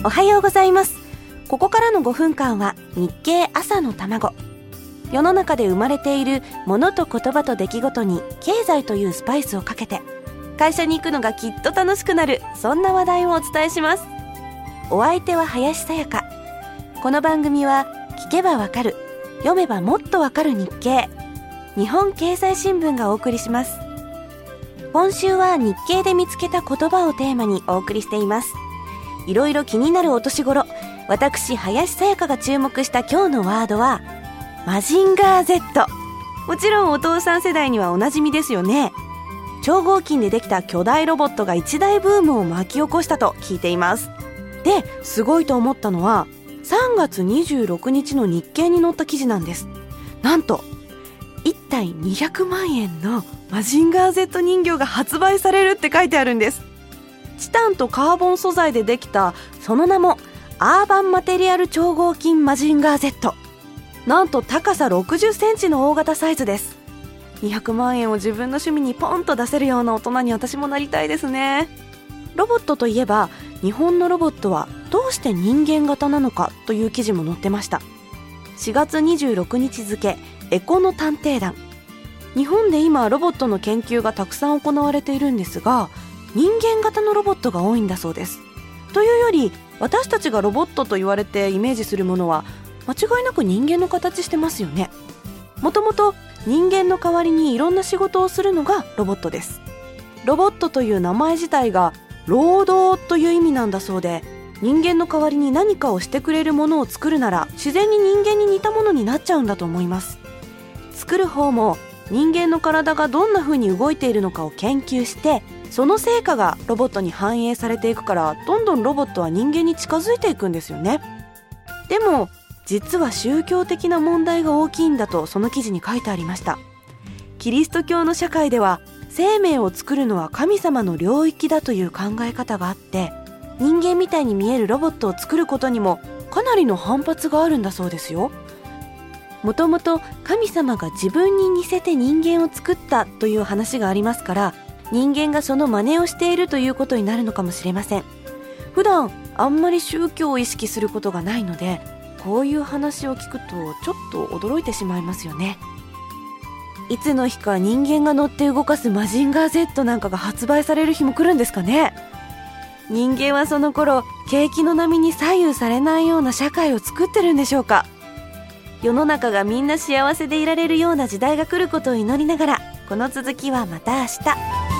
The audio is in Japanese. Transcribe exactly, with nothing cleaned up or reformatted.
おはようございます。ここからのごふんかんは日経朝の卵。世の中で生まれているものと言葉と出来事に経済というスパイスをかけて会社に行くのがきっと楽しくなる、そんな話題をお伝えします。お相手は林さやか。この番組は聞けばわかる、読めばもっとわかる日経、日本経済新聞がお送りします。今週は日経で見つけた言葉をテーマにお送りしています。いろいろ気になるお年頃、私林さやかが注目した今日のワードはマジンガー Z。 もちろんお父さん世代にはおなじみですよね。超合金でできた巨大ロボットが一大ブームを巻き起こしたと聞いています。で、すごいと思ったのはさんがつにじゅうろくにちの日経に載った記事なんです。なんといったいにひゃくまんえんのマジンガー Z 人形が発売されるって書いてあるんです。チタンとカーボン素材でできた、その名もアーバンマテリアル超合金マジンガー Z。 なんと高さろくじゅっセンチの大型サイズです。にひゃくまんえんを自分の趣味にポンと出せるような大人に私もなりたいですね。ロボットといえば日本のロボットはどうして人間型なのかという記事も載ってました。しがつにじゅうろくにち付エコの探偵団。日本で今ロボットの研究がたくさん行われているんですが、人間型のロボットが多いんだそうです。というより私たちがロボットと言われてイメージするものは間違いなく人間の形してますよね。もともと人間の代わりにいろんな仕事をするのがロボットです。ロボットという名前自体が労働という意味なんだそうで、人間の代わりに何かをしてくれるものを作るなら自然に人間に似たものになっちゃうんだと思います。作る方も人間の体がどんな風に動いているのかを研究して、その成果がロボットに反映されていくから、どんどんロボットは人間に近づいていくんですよね。でも実は宗教的な問題が大きいんだとその記事に書いてありました。キリスト教の社会では生命を作るのは神様の領域だという考え方があって、人間みたいに見えるロボットを作ることにもかなりの反発があるんだそうですよ。もともと神様が自分に似せて人間を作ったという話がありますから、人間がその真似をしているということになるのかもしれません。普段あんまり宗教を意識することがないので、こういう話を聞くとちょっと驚いてしまいますよね。いつの日か人間が乗って動かすマジンガー Z なんかが発売される日も来るんですかね。人間はその頃景気の波に左右されないような社会を作ってるんでしょうか。世の中がみんな幸せでいられるような時代が来ることを祈りながら、この続きはまた明日。